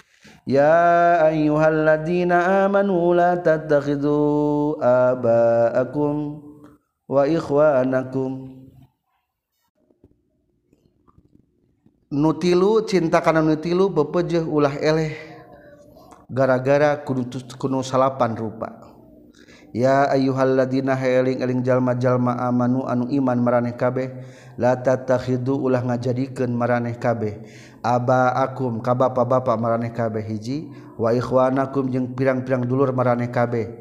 ya ayyuhallazina amanu la tattakhidhu aba'akum wa ikhwanakum nutilu cinta kana nutilu bepejeh ulah eleh gara-gara kudu kudu salapan rupa. Ya ayyuhalladzina eling-eling jalma-jalma amanu anu iman maraneh kabeh la tatakhidu ulah ngajadikeun maraneh kabeh abaakum ka bapa-bapa maraneh kabeh hiji wa ikhwanakum jeung pirang-pirang dulur maraneh kabeh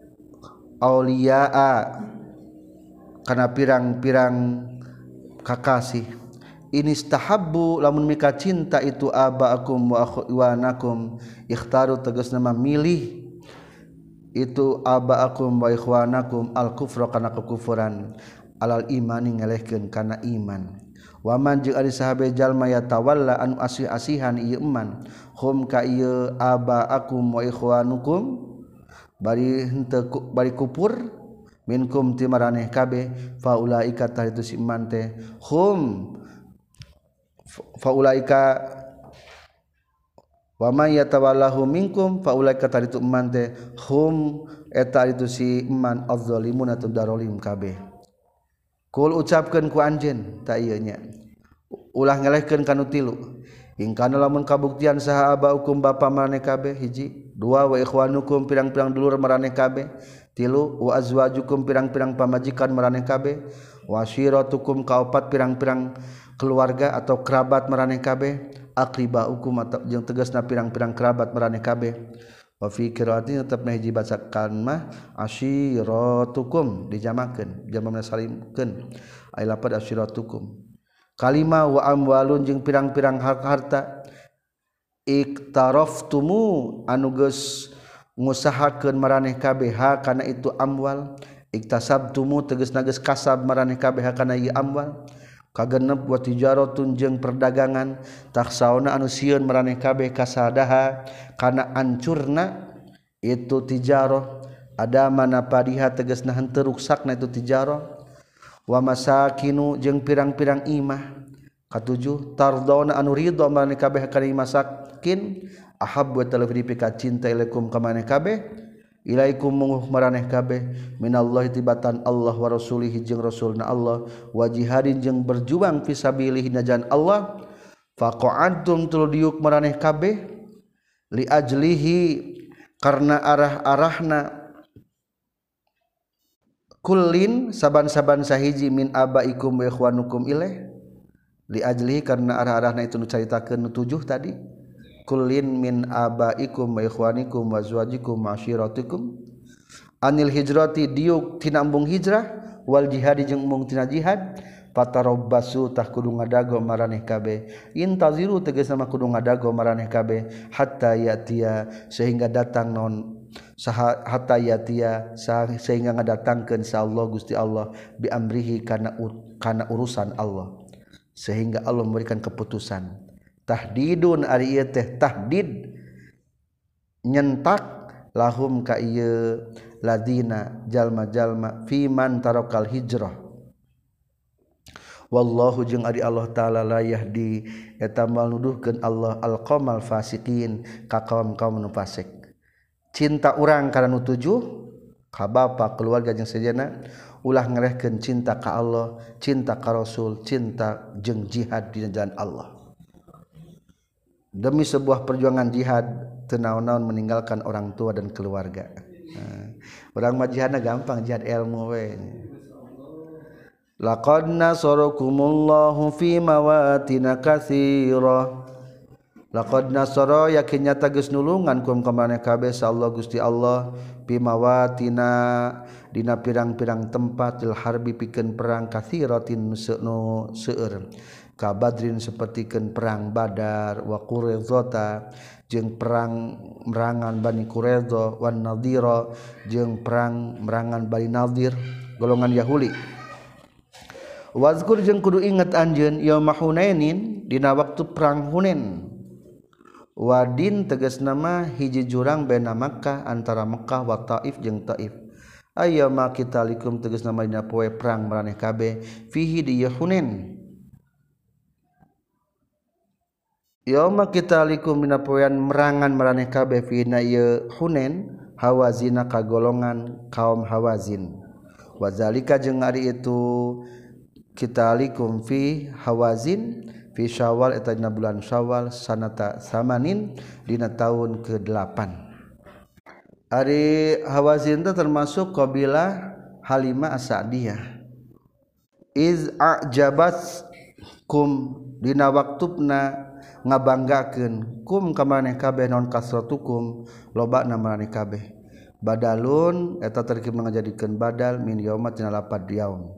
auliyaa kana pirang-pirang kakasih inistahabbu lamun mika cinta itu abaakum wa ikhwanakum ikhtaru tegasna mah milih itu abaakum wa ikhwanakum al kufra kana kekufuran alal imani ngelehkeun kana iman wa man jeung ari sahabe jalma ya tawalla anu asih-asihan ieu eman hum ka ieu abaakum wa ikhwanukum bari henteu bari kupur minkum ti maraneh kabeh faulaika tah itu si iman teh hum faulaika wa may yatawallahu minkum faulaika taditu eman teh hum eta itu si eman az-zalimun atau darolim kabeh. Kul ucapkeun ku anjeun ta ieu nya ulah ngelehkeun kanu tilu ingkana lamun kabuktian saha abaukum bapa maraneh kabeh hiji dua wa ikhwanukum pirang-pirang dulur maraneh kabeh tilu wa azwajukum pirang-pirang pamajikan maraneh kabeh wa syiratukum kaopat pirang-pirang keluarga atau kerabat maraneh kabeh aqribaukum atau jeung tegasna pirang-pirang kerabat maraneh kabeh wa fi qiraatin tetepna hiji bacakan mah asyiratukum dijamakeun jamana salimkeun ay lapad asyiratukum kalima wa amwalun jeung pirang-pirang harta iktaraftumu anu geus ngusahakeun maraneh kabeh ha kana itu amwal iktasabtumu tegas nages kasab maraneh kabeh ha kana ieu amwal kagenep wa tijaratun jeung perdagangan taksauna anu sieun maraneh kabeh kasadaha kana ancurna itu tijarah ada mana padiha tegasna henteu ruksakna itu tijarah wa masakinu jeung pirang-pirang imah katujuh tardona anu ridho maraneh kabeh kana masakin ahabbu talafri pika cinta ilaikum ka maneh kabeh ilaikum munguh maraneh kabeh minallahi tibatan Allah wa rasulihi jeung rasulna Allah wa jihadin jeung berjuang fi sabilihi najan Allah faqa'antum tul diuk maraneh kabeh li ajlihi karna arah-arahna kullin saban-saban sahiji min abaikum wa ikhwanukum ilaih li ajlihi karna arah-arahna itu nu caritakeun nu tujuh tadi kullin min abaikum wa ikhwanikum wa azwajikum wa ashiratikum anil hijrati diuk tina embung hijrah wal jihad jeung embung tina jihad patarabbasu tah kudu ngadago maraneh kabeh intaziru tegasna mah kudu ngadago maraneh kabeh hatta yatia sehingga datang non saha hatta yatia sehingga ngadatangkeun sa Allah Gusti Allah bi amrihi kana kana urusan Allah sehingga Allah memberikan keputusan tahdidun ari ieu teh tahdid nyentak lahum ka ieu ladina jalma-jalma fi man tarakal hijrah wallahu jeung ari Allah taala la yahdi eta malnuduhkeun Allah alqaumal fasiqin ka kaum-kaum nu fasik cinta urang kana nu tujuh ka bapa keluarga jeung sejenna ulah ngarehkeun cinta ka Allah cinta ka Rasul cinta jeung jihad di jalan Allah demi sebuah perjuangan jihad teu naon-naon meninggalkan orang tua dan keluarga. Nah, urang mah jihadna gampang jihad ilmu we. Laqad nasarakumullahu fi mawatin katsira. Laqad nasara yakin nyata geus nulungan kum ka maneh kabeh sa Allah Gusti Allah fi mawatina dina pirang-pirang tempat il harbi pikeun perang katsiratin nu seueur. Ka Badrin sapertikeun perang Badar wa Quraidzah jeung perang merangan Bani Quraidzah wan Nadira jeung perang merangan Bani Nadir golongan Yahudi wazkur jeung kudu inget anjeun yaum Hunainin dina waktu perang Hunain wadin tegasna mah hiji jurang baina Makkah antara Makkah wa Taif jeung Taif ayyama kitalikum tegasna mah dina poe perang maraneh kabeh fihi di Hunain yauma kitalikum mina poean merangan maraneh kabeh fi na ye Hunain hawazina kagolongan kaum Hawazin wazalika jeung ari itu kitalikum fi Hawazin fi Syawal eta dina bulan Syawal sanata samanin dina taun ke delapan ari Hawazin teh termasuk kabilah Halimah As-Sa'diyah iz a'jabat kum dina waktuna ngabanggakeun kum ka maneh kabeh naon kasratukum lobana maneh kabeh badalun eta terkib ngajadikeun badal min yauma tina lapad yaum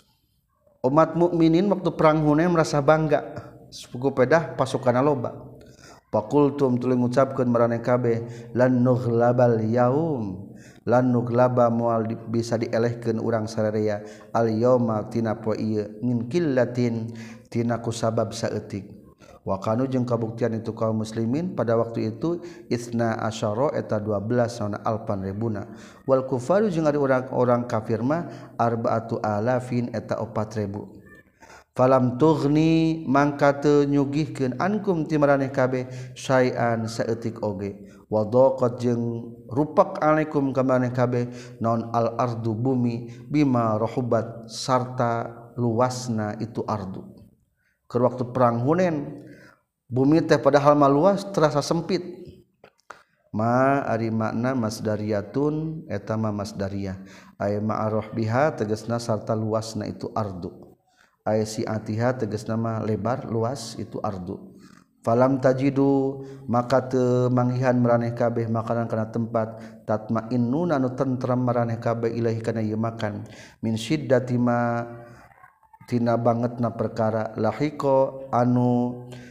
umat mukminin waktu perang Hunain merasa bangga suku pedah pasukanna loba faqultum tuluy ngucapkeun maraneh kabeh lan nughlabal yaum lan nughlaba moal bisa dielehkeun urang sararea al yauma tina poe ieu min qillatin tina kusabab saeutik wa kanu jeung kabuktian itu kaum muslimin pada waktu itu isna asyara eta dua belas naon alpan ribuna wal kufaru jeung ari orang-orang kafir mah arbaatu alafin eta opat ribu falam tughni mangka teu nyugihkeun ankum ti maraneh kabeh syai'an saeutik oge wa daqat jeung rupak alaikum ka maraneh kabeh naon al ardu bumi bima rahubat sarta luasna itu ardu keur waktu perang Hunain bumi teh padahal mah luas terasa sempit ma ari makna masdariyatun eta mah masdariyah ay ma'arah biha tegasna sarta luasna itu ardu ay si'atiha tegasna mah lebar luas itu ardu falam tajidu maka teu manghihan maraneh kabeh makanan kana tempat tatmainnun anu tentrem maraneh kabeh ilahi kana ieu makan min syiddati ma tina bangetna perkara lahiko anu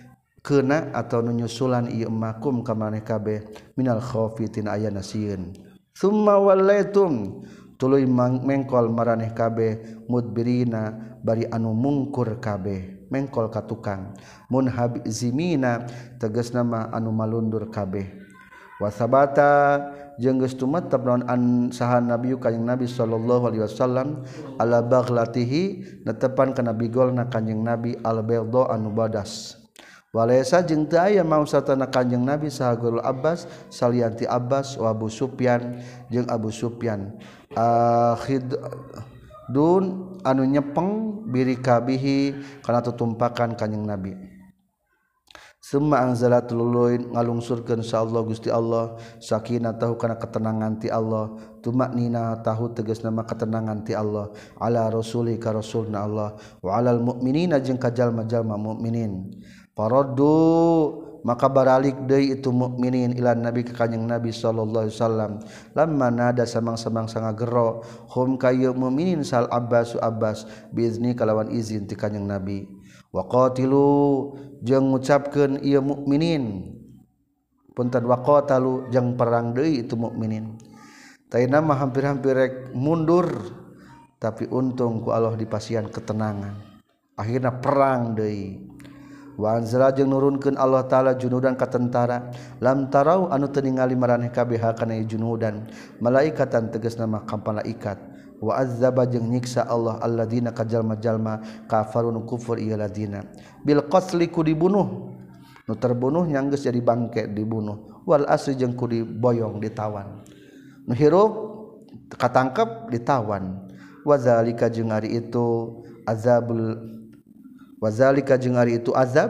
kena atau nunyusulan ieu makum ka maneh kabeh minal khaufi tina aya nasieun summa wallaitum tuluy mengkol maraneh kabeh mudbirina bari anu mungkur kabeh mengkol ka tukang munhabizimina tegasna mah anu malundur kabeh wasabata jeung geus tumetep naon an saha nabi kanjing nabi sallallahu alaihi wasallam ala baghlatihi netepan kana bigolna kanjing nabi al bayda anu badas walaysa jeung teu aya mausatana kanjing nabi saha guru Abbas salianti Abbas wa Abu Sufyan jeung Abu Sufyan akhid dun anu nyepeng birikabihi kana tutumpakan kanjing nabi summa anzalat luluin ngalungsurkeun insyaallah Gusti Allah sakinah tahu kana ketenangan ti Allah tumaknina tahu tegasna mah ketenangan ti Allah ala rasuli ka rasulna Allah wa alal mukminina jeung ka jalma-jalma mukminin faraddu maka baralik deui itu mukminin ila nabi ka kanjing nabi sallallahu alaihi wasallam lamma nada samang-samang sangagero hum kayu mukminin sal Abbas Abbas biizni kalawan izin ti kanjing nabi waqatilu jeung ngucapkeun ieu mukminin punten waqatalu jeung perang deui itu mukminin taina mah hampir-hampir rek mundur tapi untung ku Allah dipasian ketenangan akhirna perang deui wa anzala jeung nurunkeun Allah taala junudan ka tentara lam tarau anu teu ningali maraneh kabeh kana junudan malaikatan tegasna mah ka malaikat wa azzaba jeung nyiksa Allah alladzina kajalma-jalma kafarun kufur ieu ladina bil qatli ku dibunuh nu terbunuh nyanggeus jadi bangke dibunuh wal asri jeung ku diboyong ditawan nu hirup katangkep ditawan wazalika jeung ari itu azabul wazalika jeung ari itu azab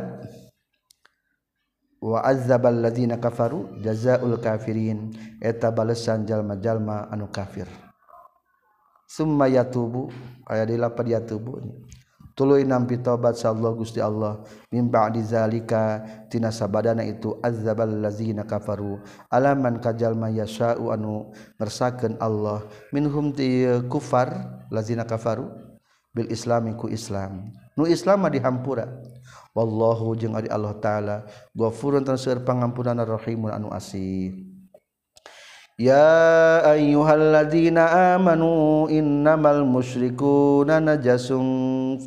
wa azzabal ladzina kafaru jazaul kafirin eta balesan jalma-jalma anu kafir summa yatubu aya di lapad yatubu tuluy nampi tobat sallallahu Gusti Allah min ba'di zalika tina sabadana itu azzabal ladzina kafaru alaman kajalma yasha'u anu ngersakeun Allah minhum ti kufar ladzina kafaru bil islami ku Islam nu Islam mah dihampura wallahu jeung ari Allah taala ghafurun tan seueur pangampunana rahimun anu asih ya ayyuhalladzina amanu innamal musyrikuuna najasun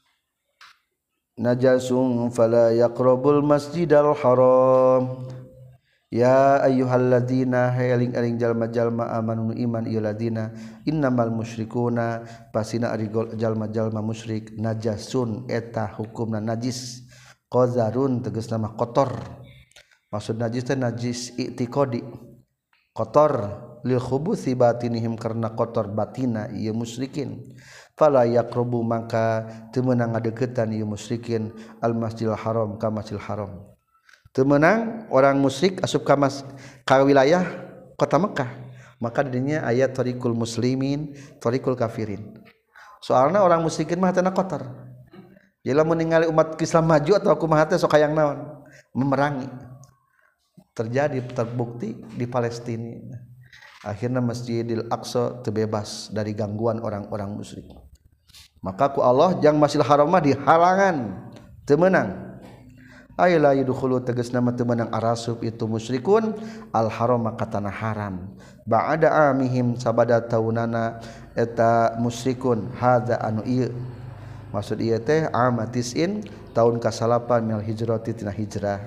najasun fala yaqrabul masjidal haram ya ayyuhalladzina hayaling-aling jalma-jalma amanu iman ieu ladina innamal musyrikuuna pasina ari jalma-jalma musyrik najasun eta hukumna najis qazarun tegasna mah kotor maksud najis teh najis i'tiqadi kotor lil khubuthi batinihim karena kotor batina ieu musyrikin fala yaqrabu maka teu meunang ngadeukeutan ieu musyrikin al masjidil haram ka masjidil haram teu meunang orang musyrik asup ka mas ka wilayah kota Mekah maka didinya aya tariqul muslimin tariqul kafirin soalna orang musyrikin mah teu kotor jadi lamun ningali umat Islam maju atau kumaha teh sok hayang naon memerangi terjadi terbukti di Palestina akhirnya Masjidil Aqsa terbebas dari gangguan orang-orang musyrik maka ku Allah jang Masjidil Haram mah dihalangan teu meunang ayla yadkhulu tegasna mah teu meunang arasub itu musyrikun al haram ka tanah haram ba'da amihim sabada taunana eta musyrikun hadza anu ieu maksud ieu teh amatisin tahun kasalapan minal hijrati tina hijrah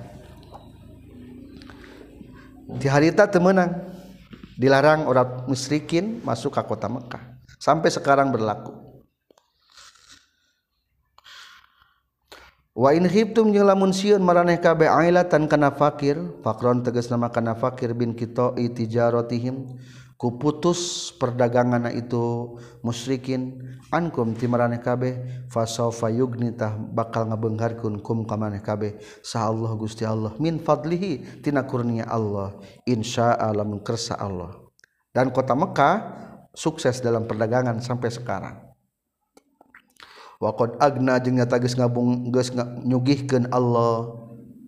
di harita teu meunang dilarang orang musyrikin masuk ke kota Mekah sampai sekarang berlaku wa in khiftum jeung lamun sieun maraneh kabeh ailatan kana fakir fakron tegasna mah kana fakir bin qita'i tijaratihim ku putus perdaganganna itu musyrikin ankum ti maraneh kabeh fasaufa yugnitah bakal ngabeungharkeun kum ka maneh kabeh sa Allah Gusti Allah min fadlihi tina kurnia Allah insya'a lamun kersa Allah dan kota Mekah sukses dalam perdagangan sampai sekarang wa qad agna jeung nyata geus ngabung geus nyugihkeun Allah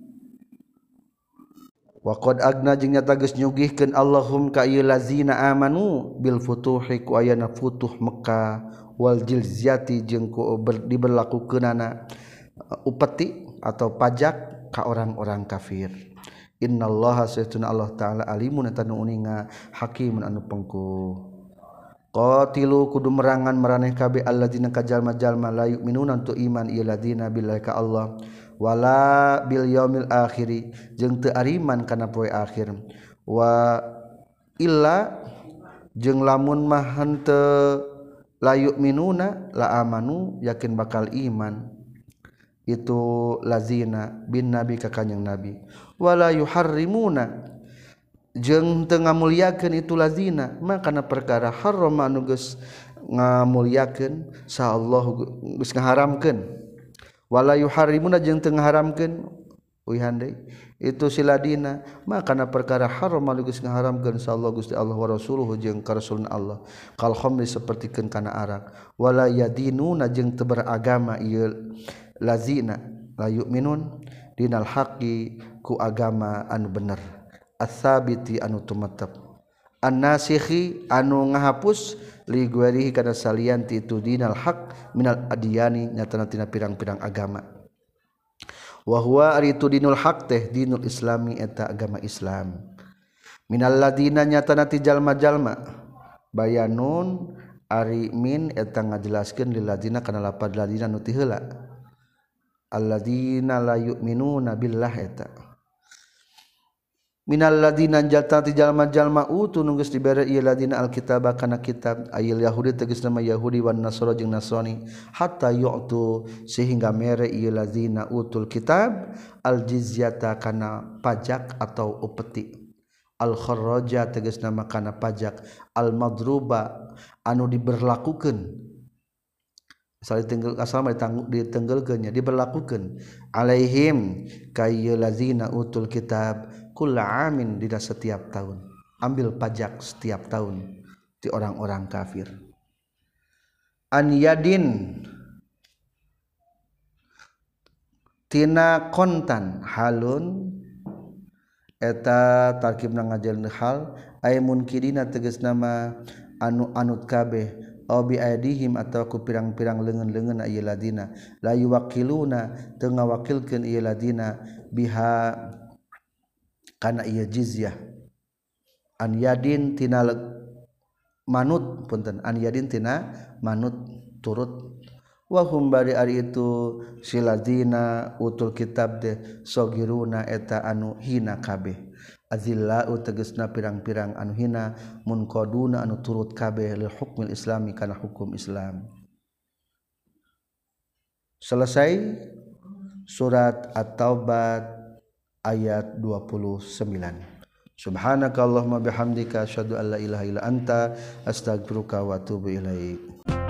wa qad agna jeung nyata geus nyugihkeun Allahum ka ieu lazina amanu bil futuhi ku ayana futuh Mekah wal jilzyati jeung ku diberlakukeunana upeti atau pajak ka orang-orang kafir. Innallaha sayyiduna Allah ta'ala alimun eta nu uninga hakimun anu pengku. Qatilu kudu merangan maraneh kabeh alladzina kajalma-jalma la yu'minuna tu iman ieu ladina billahi ka Allah wala bil yaumil akhir jeung teu ariman kana poe akhir wa illa jeung lamun mah henteu la yu'minuna la amanu yakin bakal iman itu lazina bin nabi ka kanjing nabi wala yuharrimuna jeung teu ngamulyakeun itu lazina makana perkara haram anu geus ngamulyakeun sa Allah geus ngaharamkeun wala yuharrimuna jeung teu ngaharamkeun uihan deui itu siladina makana perkara haram anu geus ngaharamkeun sa Allah Gusti Allah wa rasuluhu jeung ka rasulna Allah kal khamri sapertikeun kana arak wala yadinuna jeung teu beragama ieu lazina la yu'minun dinal haqqi ku agama anu bener as-sabiti anu tumetep an-nasikhi anu ngahapus li guerihi kana salianti itu dinal haq minal adiyani nyatana tina pirang-pirang agama wa huwa aritu dinul haq teh dinul islami eta agama Islam minal ladina nyatana ti jalma-jalma bayanun ari min eta ngajelaskeun lil ladina kana lapad ladina nu ti heula alladzina la yu'minuna billah eta minal ladina jatati jalma-jalma utu nunggus dibere ieu ladina alkitab kana kitab ayil yahudi tegasna mah yahudi wan nasara jeung nasrani hatta yu'tu sehingga mere ieu ladina utul kitab aljizyata kana pajak atau upeti al kharraja tegasna mah kana pajak al madruba anu diberlakukeun asal ditenggel asal ditenggelkeunnya diberlakukeun alaihim kayy lazina utul kitab kulla amin di setiap tahun ambil pajak setiap tahun di orang-orang kafir an yadin tina kontan halun eta tarkibna ngajelna hal ay munkirina tegasna mah anu anut kabeh aw bi aidihim atawa ku pirang-pirang leungeun-leungeun ieu ladina la yuwakiluna teu ngawakilkeun ieu ladina biha kana ieu jizyah an yadin tina manut punten an yadin tina manut turut wa hum bari ari itu siladina utul kitab de sogiruna eta anu hina kabeh azilla tegasna pirang-pirang anu hina munqaduna anu turut kabeh lil hukmil islami kana hukum Islam. Selesai surat At-Taubah ayat dua puluh sembilan. Subhanakallahumma bihamdika asyhadu an la ilaha illa anta astaghfiruka wa atubu ilaik.